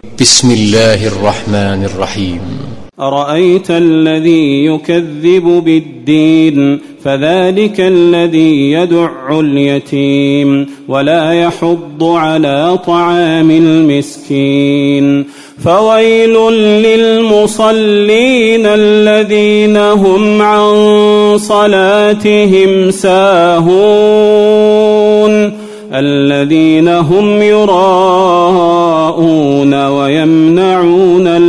بسم الله الرحمن الرحيم. أرأيت الذي يكذب بالدين فذلك الذي يدع اليتيم ولا يحض على طعام المسكين فويل للمصلين الذين هم عن صلاتهم ساهون الذين هم يراءون ويمنعون